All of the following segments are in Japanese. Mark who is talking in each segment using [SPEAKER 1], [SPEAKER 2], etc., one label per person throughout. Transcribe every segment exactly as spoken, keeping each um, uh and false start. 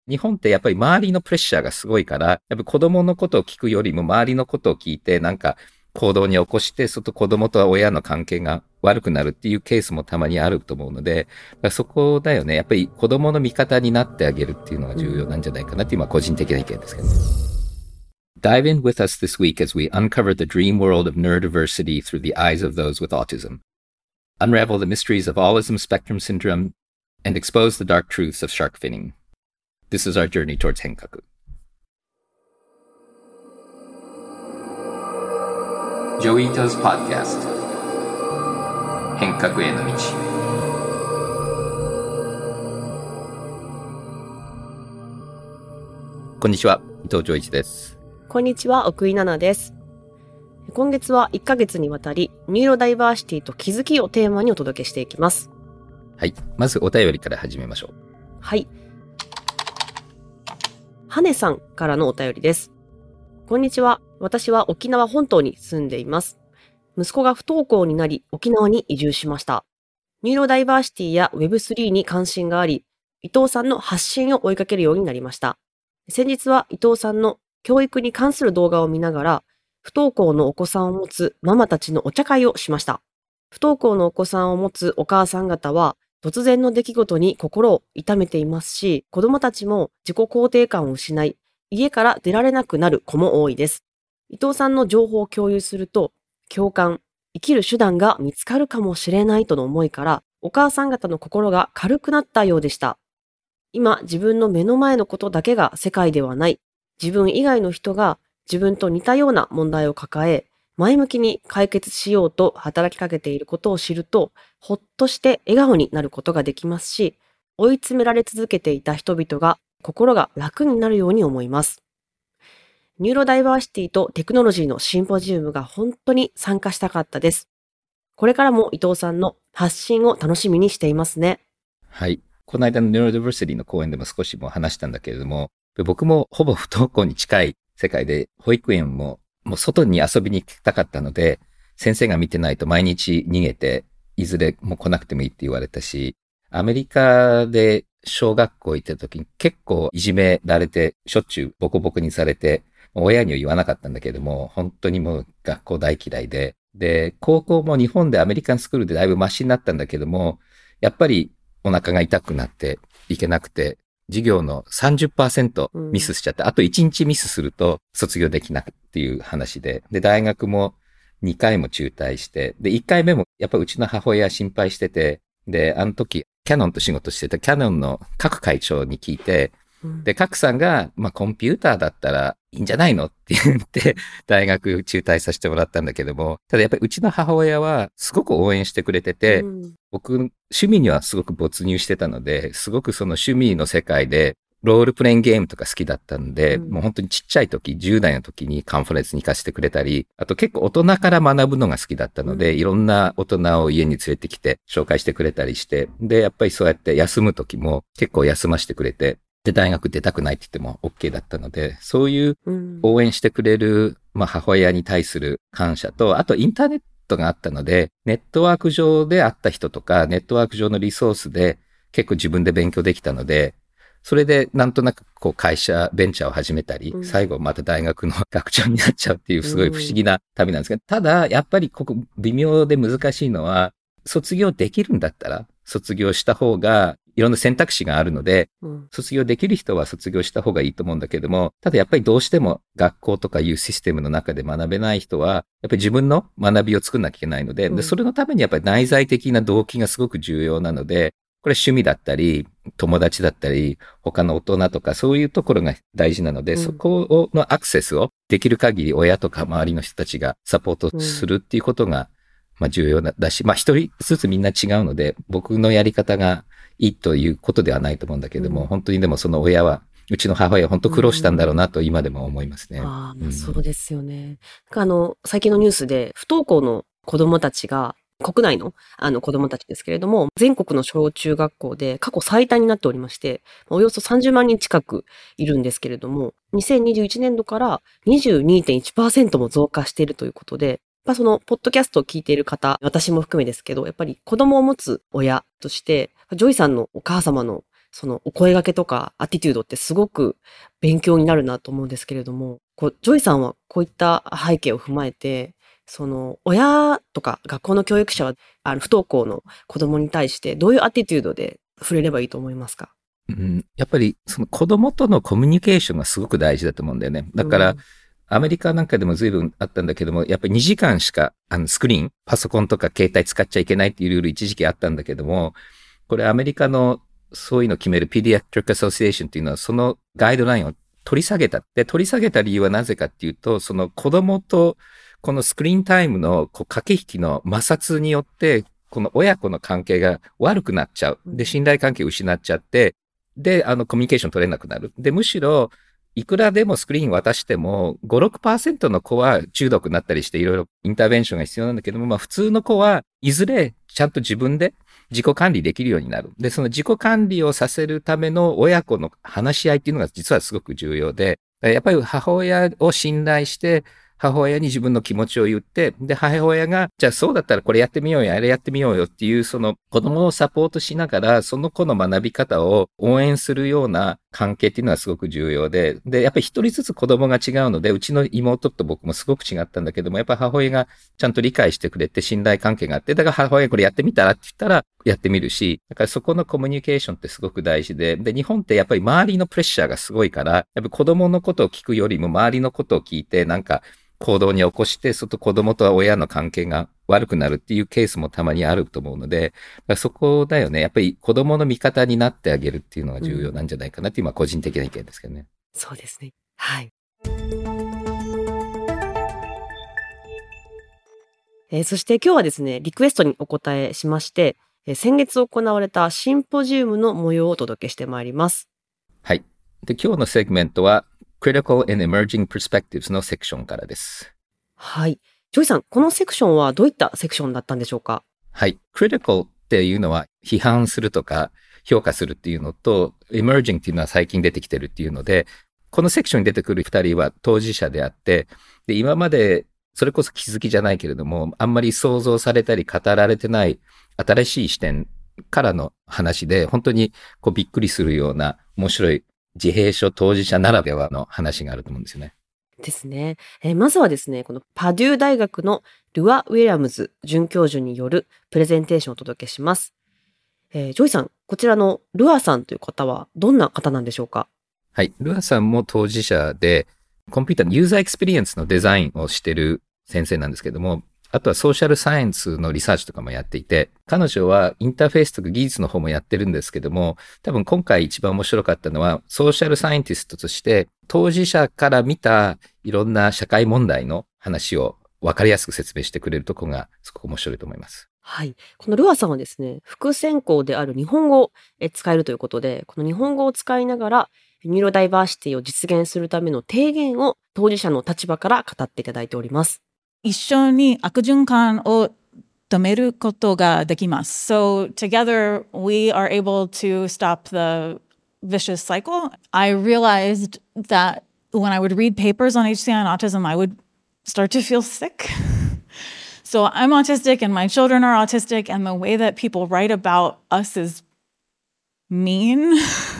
[SPEAKER 1] 日本ってやっぱり周りのプレッシャーがすごいから、やっぱり子供のことを聞くよりも周りのことを聞いてなんか行動に起こして、そと子供と親の関係が悪くなるっていうケースもたまにあると思うので、そこだよね。やっぱり子供の味方になってあげるっていうのが重要なんじゃないかなっていうのは個人的な意見ですけど。Dive in with us this week as we uncover the dream world of neurodiversity through the eyes of those with autism. Unravel the mysteries of autism spectrum syndrome and expose the dark truths of shark finning. This is our journey towards 変革。ジョイートズ・ポッドキャスト変革への道。こんにちは、伊藤浄一です。
[SPEAKER 2] こんにちは、奥井奈々です。今月はいっかげつにわたりニューロダイバーシティと気づきをテーマにお届けしていきます。
[SPEAKER 1] はい、まずお便りから始めましょう。
[SPEAKER 2] はい、はねさんからのお便りです。こんにちは。私は沖縄本島に住んでいます。息子が不登校になり沖縄に移住しました。ニューロダイバーシティや ウェブスリー に関心があり、伊藤さんの発信を追いかけるようになりました。先日は伊藤さんの教育に関する動画を見ながら、不登校のお子さんを持つママたちのお茶会をしました。不登校のお子さんを持つお母さん方は、突然の出来事に心を痛めていますし、子供たちも自己肯定感を失い、家から出られなくなる子も多いです。伊藤さんの情報を共有すると、共感、生きる手段が見つかるかもしれないとの思いから、お母さん方の心が軽くなったようでした。今、自分の目の前のことだけが世界ではない。自分以外の人が自分と似たような問題を抱え、前向きに解決しようと働きかけていることを知ると、ほっとして笑顔になることができますし、追い詰められ続けていた人々が心が楽になるように思います。ニューロダイバーシティとテクノロジーのシンポジウムが本当に参加したかったです。これからも伊藤さんの発信を楽しみにしていますね。
[SPEAKER 1] はい。この間のニューロダイバーシティの講演でも少しも話したんだけれども、僕もほぼ不登校に近い世界で、保育園ももう外に遊びに行きたかったので、先生が見てないと毎日逃げて、いずれもう来なくてもいいって言われたし、アメリカで小学校行った時に結構いじめられて、しょっちゅうボコボコにされて、親には言わなかったんだけれども、本当にもう学校大嫌いで、で、高校も日本でアメリカンスクールでだいぶマシになったんだけども、やっぱりお腹が痛くなっていけなくて、授業の さんじゅっパーセント ミスしちゃって、うん、あといちにちミスすると卒業できなくっていう話で、で、大学もにかいも中退して、で、いっかいめもやっぱうちの母親心配してて、で、あの時、キャノンと仕事してたキャノンの各会長に聞いて、うん、で、各さんが、まあ、コンピューターだったらいいんじゃないのって言って、大学中退させてもらったんだけども、ただやっぱりうちの母親はすごく応援してくれてて、うん、僕、趣味にはすごく没入してたので、すごくその趣味の世界で、ロールプレインゲームとか好きだったんで、うん、もう本当にちっちゃい時、じゅう代の時にカンファレンスに行かせてくれたり、あと結構大人から学ぶのが好きだったので、うん、いろんな大人を家に連れてきて紹介してくれたりして、で、やっぱりそうやって休む時も結構休ませてくれて、で、大学出たくないって言っても OK だったので、そういう応援してくれる、まあ、母親に対する感謝と、あとインターネットがあったので、ネットワーク上で会った人とか、ネットワーク上のリソースで結構自分で勉強できたので、それでなんとなくこう会社、ベンチャーを始めたり、うん、最後また大学の学長になっちゃうっていうすごい不思議な旅なんですけど、ただやっぱりここ微妙で難しいのは、卒業できるんだったら、卒業した方がいろんな選択肢があるので、うん、卒業できる人は卒業した方がいいと思うんだけども、ただやっぱりどうしても学校とかいうシステムの中で学べない人は、やっぱり自分の学びを作んなきゃいけないので、うん、でそれのためにやっぱり内在的な動機がすごく重要なので、これ趣味だったり、友達だったり、他の大人とかそういうところが大事なので、うん、そこのアクセスをできる限り親とか周りの人たちがサポートするっていうことが、まあ重要だし、まあ一人ずつみんな違うので、僕のやり方がいいということではないと思うんだけども、うん、本当にでもその親は、うちの母親は本当苦労したんだろうなと今でも思いますね。
[SPEAKER 2] うん、ああ、そうですよね。あの、最近のニュースで不登校の子供たちが、国内のあの子供たちですけれども、全国の小中学校で過去最多になっておりまして、およそさんじゅうまんにん近くいるんですけれども、にせんにじゅういちねんどから にじゅうにてんいちパーセント も増加しているということで、やっぱそのポッドキャストを聞いている方、私も含めですけど、やっぱり子供を持つ親として、ジョイさんのお母様のそのお声掛けとかアティチュードってすごく勉強になるなと思うんですけれども、こうジョイさんはこういった背景を踏まえて、その親とか学校の教育者はあの不登校の子供に対してどういうアティチュードで触れればいいと思いますか？
[SPEAKER 1] うん、やっぱりその子供とのコミュニケーションがすごく大事だと思うんだよね。だから、
[SPEAKER 2] うん
[SPEAKER 1] アメリカなんかでも随分あったんだけども、やっぱりにじかんしかあのスクリーン、パソコンとか携帯使っちゃいけないっていうルール一時期あったんだけども、これアメリカのそういうのを決める Pediatric Association っていうのはそのガイドラインを取り下げた。で、取り下げた理由はなぜかっていうと、その子供とこのスクリーンタイムのこう駆け引きの摩擦によって、この親子の関係が悪くなっちゃう。で、信頼関係を失っちゃって、で、あの、コミュニケーション取れなくなる。で、むしろ、いくらでもスクリーン渡しても、ご、ろくパーセントの子は中毒になったりして、いろいろインターベンションが必要なんだけども、まあ、普通の子はいずれちゃんと自分で自己管理できるようになる。で、その自己管理をさせるための親子の話し合いっていうのが実はすごく重要で、やっぱり母親を信頼して、母親に自分の気持ちを言って、で、母親が、じゃあそうだったらこれやってみようよ、あれやってみようよっていう、その子供をサポートしながら、その子の学び方を応援するような関係っていうのはすごく重要で、で、やっぱり一人ずつ子供が違うので、うちの妹と僕もすごく違ったんだけども、やっぱり母親がちゃんと理解してくれて信頼関係があって、だから母親これやってみたらって言ったらやってみるし、だからそこのコミュニケーションってすごく大事で、で、日本ってやっぱり周りのプレッシャーがすごいから、やっぱり子供のことを聞くよりも周りのことを聞いて、なんか、行動に起こして、そと子供と親の関係が悪くなるっていうケースもたまにあると思うので、そこだよね。やっぱり子供の味方になってあげるっていうのが重要なんじゃないかなっていう、まあ個人的な意見ですけどね。
[SPEAKER 2] そうですね。はい。えーそして今日はですね、リクエストにお答えしまして、えー先月行われたシンポジウムの模様をお届けしてまいります。
[SPEAKER 1] はい。で、今日のセグメントは、Critical and Emerging Perspectives のセクションからです。
[SPEAKER 2] はい。ジョイさん、このセクションはどういったセクションだったんでしょうか？
[SPEAKER 1] はい。Critical っていうのは批判するとか評価するっていうのと、Emerging っていうのは最近出てきてるっていうので、このセクションに出てくる二人は当事者であって、で、今までそれこそ気づきじゃないけれども、あんまり想像されたり語られてない新しい視点からの話で、本当にこうびっくりするような面白い自閉症当事者ならではの話があると思うんですよね。
[SPEAKER 2] ですね。えーまずはですね、このパデュー大学のルア・ウィリアムズ准教授によるプレゼンテーションをお届けします。えージョイさん、こちらのルアさんという方はどんな方なんでしょうか？
[SPEAKER 1] はい。ルアさんも当事者で、コンピューターのユーザーエクスペリエンスのデザインをしてる先生なんですけども、あとはソーシャルサイエンスのリサーチとかもやっていて、彼女はインターフェースとか技術の方もやってるんですけども、多分今回一番面白かったのは、ソーシャルサイエンティストとして当事者から見たいろんな社会問題の話を分かりやすく説明してくれるところがすごく面白いと思います。
[SPEAKER 2] はい。このルアさんはですね、副専攻である日本語をえ使えるということで、この日本語を使いながら、ニューロダイバーシティを実現するための提言を当事者の立場から語っていただいております。
[SPEAKER 3] 一緒に悪循環を止めることができます。So together we are able to stop the vicious cycle. I realized that when I would read papers on H C I and autism, I would start to feel sick. So I'm autistic and my children are autistic, and the way that people write about us is mean.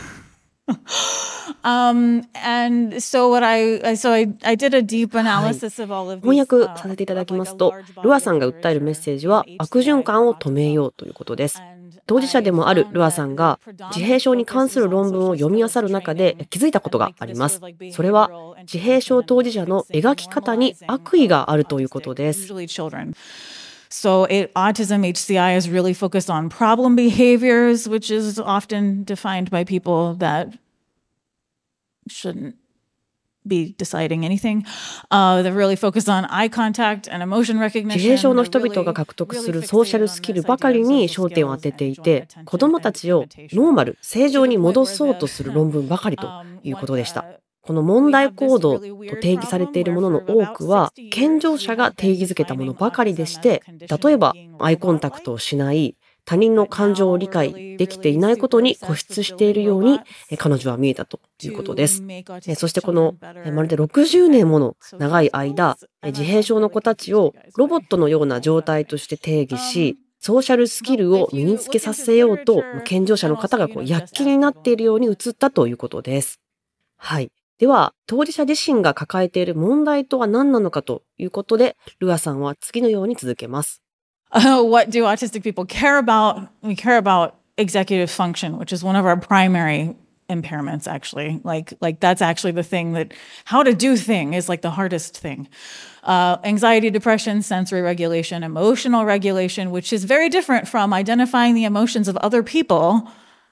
[SPEAKER 3] um, and so what I, so I, I did a deep analysis of all of these.
[SPEAKER 2] 翻訳させていただきますと、ルアさんが訴えるメッセージは悪循環を止めようということです。当事者でもあるルアさんが自閉症に関する論文を読み漁る中で気づいたことがあります。それは自閉症当事者の描き方に悪意があるということです。
[SPEAKER 3] So it, autism H C I is really focused on problem behaviors, which is often defined by people that shouldn't be deciding anything. Uh, they're really focused on eye contact and emotion recognition.
[SPEAKER 2] 自閉症の人々が獲得するソーシャルスキルばかりに焦点を当てていて、子どもたちをノーマル、正常に戻そうとする論文ばかりということでした。この問題行動と定義されているものの多くは、健常者が定義づけたものばかりでして、例えばアイコンタクトをしない、他人の感情を理解できていないことに固執しているように彼女は見えたということです。そしてこのまるでろくじゅうねんもの長い間、自閉症の子たちをロボットのような状態として定義し、 ソーシャルスキルを身につけさせようと、健常者の方がこう躍起になっているように映ったということです。はい。では、当事者自身が抱えている問題とは何なのかということで、ルアさんは次のように続けます。
[SPEAKER 3] Uh, what do autistic people care about? We care about executive function, which is one of our primary impairments, actually. Like, like that's actually the thing that how to do thing is like the hardest thing. Uh, anxiety, depression, sensory regulation, emotional regulation, which is very different from identifying the emotions of other people.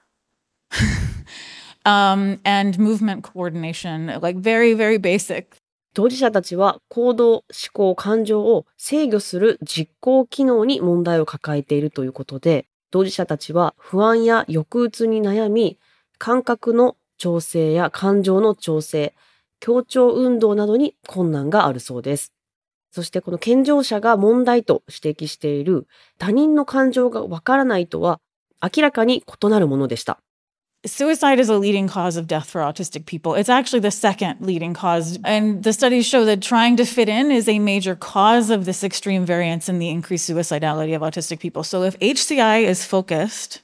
[SPEAKER 3] um, and movement coordination, like very, very basic.
[SPEAKER 2] 当事者たちは行動、思考、感情を制御する実行機能に問題を抱えているということで、当事者たちは不安や抑うつに悩み、感覚の調整や感情の調整、協調運動などに困難があるそうです。そしてこの健常者が問題と指摘している他人の感情がわからないとは明らかに異なるものでした。
[SPEAKER 3] Suicide is a leading cause of death for autistic people. It's actually the second leading cause. And the studies show that trying to fit in is a major cause of this extreme variance in the increased suicidality of autistic people. So if H C I is focused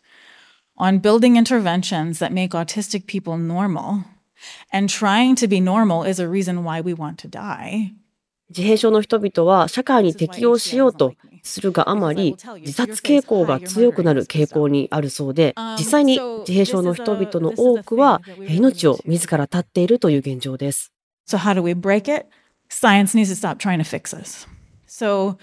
[SPEAKER 3] on building interventions that make autistic people normal, and trying to be normal is a reason why we want to die.
[SPEAKER 2] 自閉症の人々は社会に適応しようとするがあまり、自殺傾向が強くなる傾向にあるそうで、実際に自閉症の人々の多くは命を自ら絶っているという現状です。
[SPEAKER 3] So how do we break it? Science needs to stop trying to fix us. So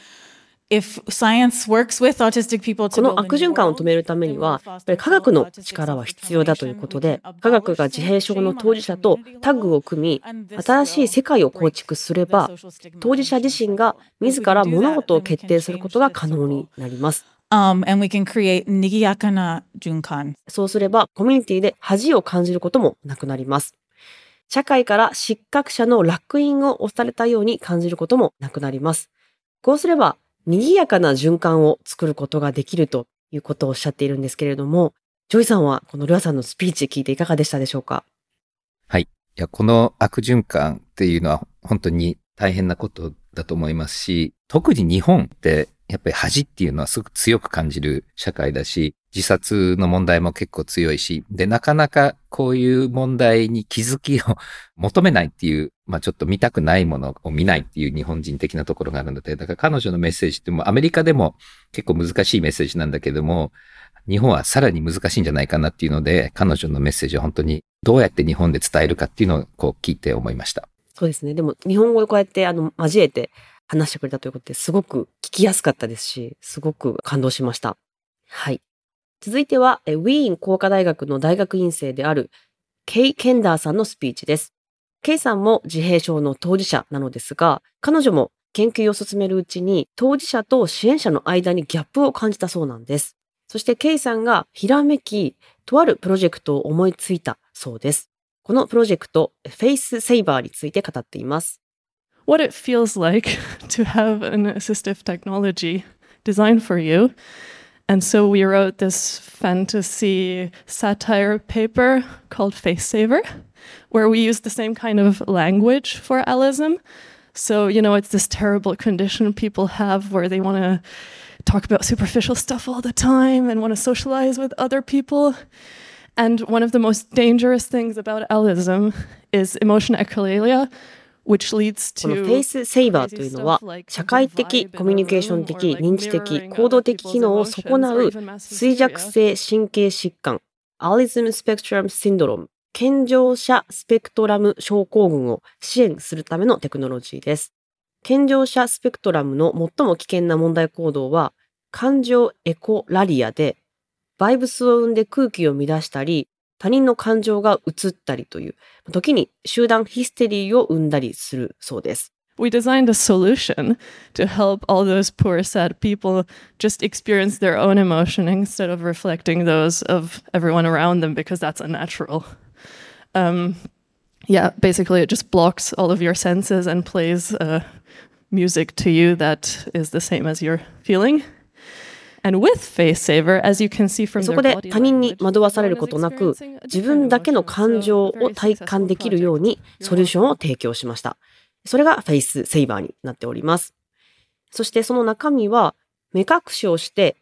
[SPEAKER 3] if science works with autistic people to
[SPEAKER 2] この悪循環を止めるためには、やっぱり科学の力は必要だということで、科学が自閉症の当事者とタッグを組み、新しい世界を構築すれば、当事者自身が自ら物事を決定することが可能になります。
[SPEAKER 3] Um, and we can create 賑やかな循環。
[SPEAKER 2] そうすれば、コミュニティで恥を感じることもなくなります。社会から失格者の烙印を押されたように感じることもなくなります。こうすれば、賑やかな循環を作ることができるということをおっしゃっているんですけれども、ジョイさんはこのルアさんのスピーチ聞いていかがでしたでしょうか？
[SPEAKER 1] はい。いや、この悪循環っていうのは本当に大変なことだと思いますし、特に日本ってやっぱり恥っていうのはすごく強く感じる社会だし、自殺の問題も結構強いし、で、なかなかこういう問題に気づきを求めないっていう、まあちょっと見たくないものを見ないっていう日本人的なところがあるので、だから彼女のメッセージってもアメリカでも結構難しいメッセージなんだけども、日本はさらに難しいんじゃないかなっていうので、彼女のメッセージは本当にどうやって日本で伝えるかっていうのをこう聞いて思いました。
[SPEAKER 2] そうですね。でも日本語をこうやってあの交えて話してくれたということですごく聞きやすかったですし、すごく感動しました。はい。続いては、ウィーン工科大学の大学院生であるケイ・ケンダーさんのスピーチです。ケイさんも自閉症の当事者なのですが、彼女も研究を進めるうちに当事者と支援者の間にギャップを感じたそうなんです。そしてケイさんがひらめき、とあるプロジェクトを思いついたそうです。このプロジェクト、フェイスセイバーについて語っています。
[SPEAKER 4] What it feels like to have an assistive technology designed for you.And so we wrote this fantasy satire paper called Face Saver, where we use the same kind of language for allism. So, you know, it's this terrible condition people have where they want to talk about superficial stuff all the time and want to socialize with other people. And one of the most dangerous things about allism is emotion echolalia.Which leads to
[SPEAKER 2] このフェイスセイバーというのは、社会的、コミュニケーション的、認知的、行動的機能を損なう衰弱性神経疾患、アリズムスペクトラムシンドローム、健常者スペクトラム症候群を支援するためのテクノロジーです。健常者スペクトラムの最も危険な問題行動は、感情エコラリアで、バイブスを生んで空気を乱したり、他人の感情が移ったりという、時に集団ヒステリーを生んだりするそうです。
[SPEAKER 4] We designed a solution to help all those poor, sad people just experience their own emotion instead of reflecting those of everyone around them because that's unnatural. Um, yeah, basically it just blocks all of your senses and plays uh, music to you that is the same as you're feeling.And with Face Saver, as you can see from their body language,
[SPEAKER 2] そこで他人に惑わされることなく、自分だけの感情を体感できるようにソリューションを提供しました。それがFace Saverになっております。そしてその中身は、目隠しをして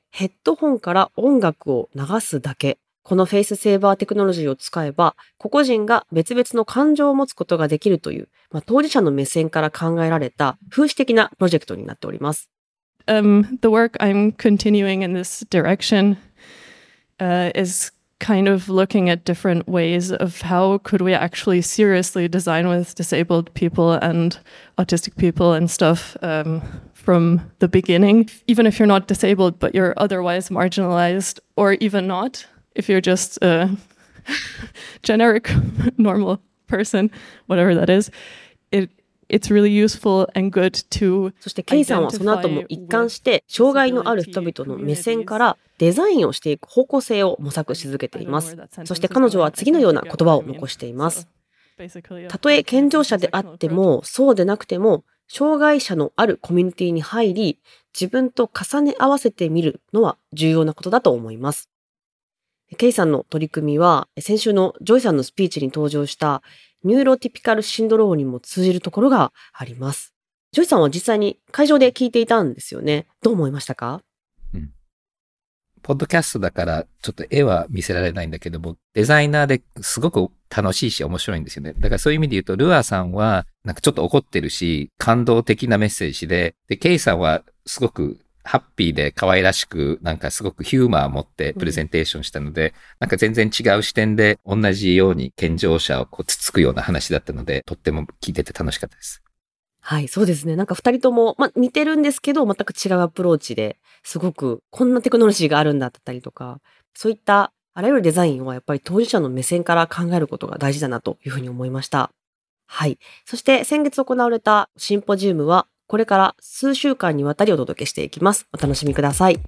[SPEAKER 2] ヘッドホンから音楽を流すだけ。このフェイスセーバーテクノロジーを使えば、個々人が別々の感情を持つことができるという、まあ、当事者の目線から考えられた風刺的なプロジェクトになっております。
[SPEAKER 4] Um, the work I'm continuing in this direction uh, is kind of looking at different ways of how could we actually seriously design with disabled people and autistic people and stuff um, from the beginning, even if you're not disabled, but you're otherwise marginalized, or even not, if you're just a generic normal person, whatever that is. It It's really useful and good to
[SPEAKER 2] そしてケイさんはその後も一貫して障害のある人々の目線からデザインをしていく方向性を模索し続けています。そして彼女は次のような言葉を残しています。たとえ健常者であってもそうでなくても障害者のあるコミュニティに入り自分と重ね合わせてみるのは重要なことだと思います。ケイさんの取り組みは先週のジョイさんのスピーチに登場したニューロティピカルシンドロームにも通じるところがあります。ジョイさんは実際に会場で聞いていたんですよね。どう思いましたか？
[SPEAKER 1] うん。ポッドキャストだからちょっと絵は見せられないんだけども、デザイナーですごく楽しいし面白いんですよね。だからそういう意味で言うと、ルアーさんはなんかちょっと怒ってるし、感動的なメッセージで、で、ケイさんはすごくハッピーで可愛らしく、なんかすごくヒューマーを持ってプレゼンテーションしたので、うん、なんか全然違う視点で同じように健常者をこうつつくような話だったので、とっても聞いてて楽しかったです。
[SPEAKER 2] はい、そうですね。なんか二人とも、まあ、似てるんですけど、全く違うアプローチで、すごくこんなテクノロジーがあるんだったりとか、そういったあらゆるデザインはやっぱり当事者の目線から考えることが大事だなというふうに思いました。はい。そして先月行われたシンポジウムは、これから数週間にわたりお届けしていきます。お楽しみください。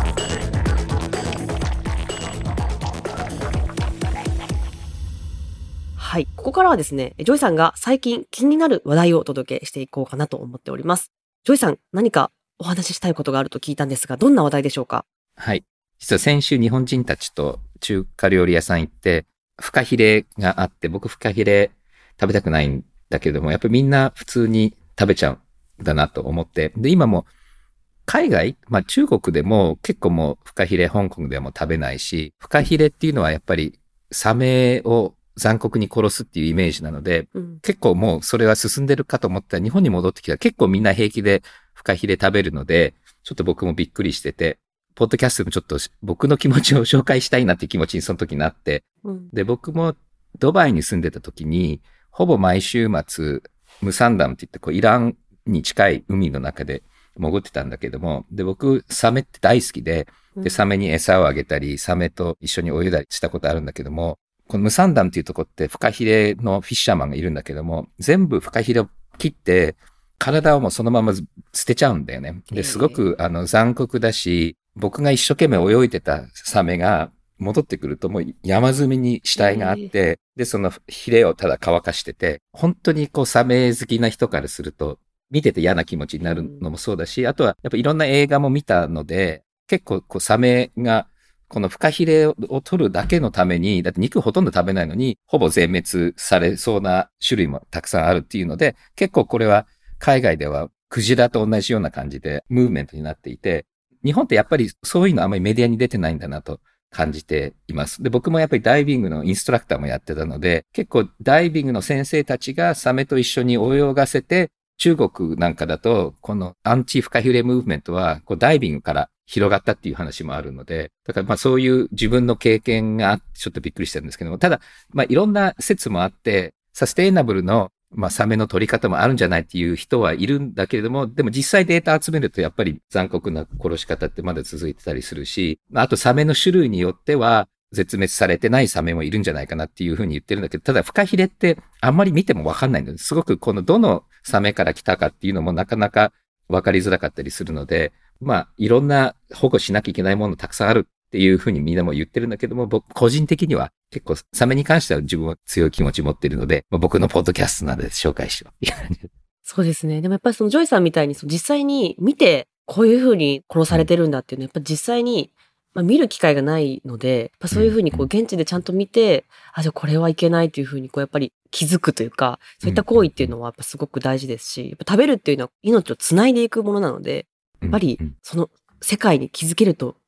[SPEAKER 2] はい。ここからはですね、ジョイさんが最近気になる話題をお届けしていこうかなと思っております。ジョイさん、何かお話ししたいことがあると聞いたんですが、どんな話題でしょうか？
[SPEAKER 1] はい。実は先週日本人たちと中華料理屋さん行って、フカヒレがあって、僕フカヒレ食べたくないんだけれども、やっぱりみんな普通に食べちゃう。だなと思って。で、今も海外、まあ中国でも結構もうフカヒレ、香港でも食べないし、フカヒレっていうのはやっぱりサメを残酷に殺すっていうイメージなので、うん、結構もうそれは進んでるかと思ったら日本に戻ってきたら結構みんな平気でフカヒレ食べるので、ちょっと僕もびっくりしてて、ポッドキャストでもちょっと僕の気持ちを紹介したいなっていう気持ちにその時になって、うん、で、僕もドバイに住んでた時に、ほぼ毎週末、ムサンダムって言ってこうイランに近い海の中で潜ってたんだけども、で、僕、サメって大好きで、で、サメに餌をあげたり、サメと一緒に泳いだりしたことあるんだけども、このムサンダムっていうとこってフカヒレのフィッシャーマンがいるんだけども、全部フカヒレを切って、体をもうそのまま捨てちゃうんだよね。で、すごくあの残酷だし、僕が一生懸命泳いでたサメが戻ってくるともう山積みに死体があって、で、そのヒレをただ乾かしてて、本当にこうサメ好きな人からすると、見てて嫌な気持ちになるのもそうだし、あとはやっぱいろんな映画も見たので、結構こうサメがこのフカヒレを取るだけのために、だって肉ほとんど食べないのに、ほぼ全滅されそうな種類もたくさんあるっていうので、結構これは海外ではクジラと同じような感じでムーブメントになっていて、日本ってやっぱりそういうのあんまりメディアに出てないんだなと感じています。で、僕もやっぱりダイビングのインストラクターもやってたので、結構ダイビングの先生たちがサメと一緒に泳がせて、中国なんかだと、このアンチフカヒレムーブメントは、こうダイビングから広がったっていう話もあるので、だからまあそういう自分の経験があってちょっとびっくりしてるんですけども、ただ、まあいろんな説もあって、サステイナブルのまあサメの取り方もあるんじゃないっていう人はいるんだけれども、でも実際データ集めるとやっぱり残酷な殺し方ってまだ続いてたりするし、あとサメの種類によっては、絶滅されてないサメもいるんじゃないかなっていうふうに言ってるんだけど、ただフカヒレってあんまり見てもわかんないので、すごくこのどのサメから来たかっていうのもなかなかわかりづらかったりするので、まあいろんな保護しなきゃいけないものたくさんあるっていうふうにみんなも言ってるんだけども、僕個人的には結構サメに関しては自分は強い気持ち持っているので、まあ、僕のポッドキャストなので紹介しよう。
[SPEAKER 2] そうですね。でもやっぱりそのジョイさんみたいにその実際に見てこういうふうに殺されてるんだっていうのはやっぱ実際にまあ、見る機会がないので、やっぱそういうふうにこう現地でちゃんと見て、あ、じゃあこれはいけないというふうにこうやっぱり気づくというか、そういった行為っていうのはやっぱすごく大事ですし、やっぱ食べるっていうのは命をつないでいくものなので、やっぱりその世界に気づけると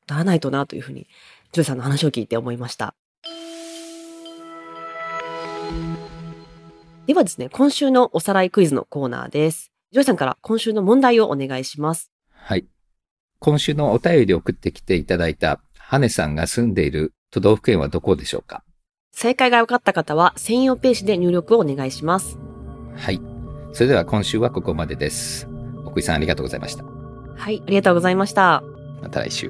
[SPEAKER 2] ならないとなというふうに、ジョイさんの話を聞いて思いました。ではですね、今週のおさらいクイズのコーナーです。ジョイさんから今週の問題をお願いします。
[SPEAKER 1] はい。今週のお便りを送ってきていただいたハネさんが住んでいる都道府県はどこでしょうか？
[SPEAKER 2] 正解が分かった方は専用ページで入力をお願いします。
[SPEAKER 1] はい。それでは今週はここまでです。奥井さんありがとうございました。
[SPEAKER 2] はい、ありがとうございました。
[SPEAKER 1] また来週。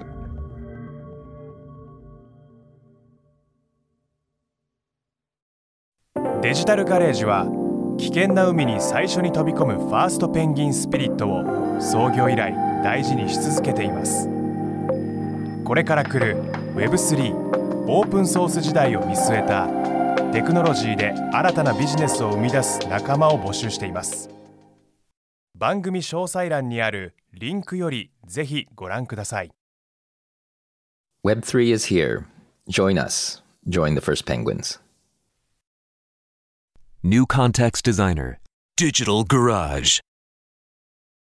[SPEAKER 5] デジタルガレージは危険な海に最初に飛び込むファーストペンギンスピリットを創業以来大事にし続けています。これから来る ウェブスリー オープンソース時代を見据えたテクノロジーで新たなビジネスを生み出す仲間を募集しています。番組詳細欄にあるリンクよりぜひご覧ください。
[SPEAKER 1] ウェブスリー is here. Join us. Join the first penguins.
[SPEAKER 6] New Context Designer, Digital Garage.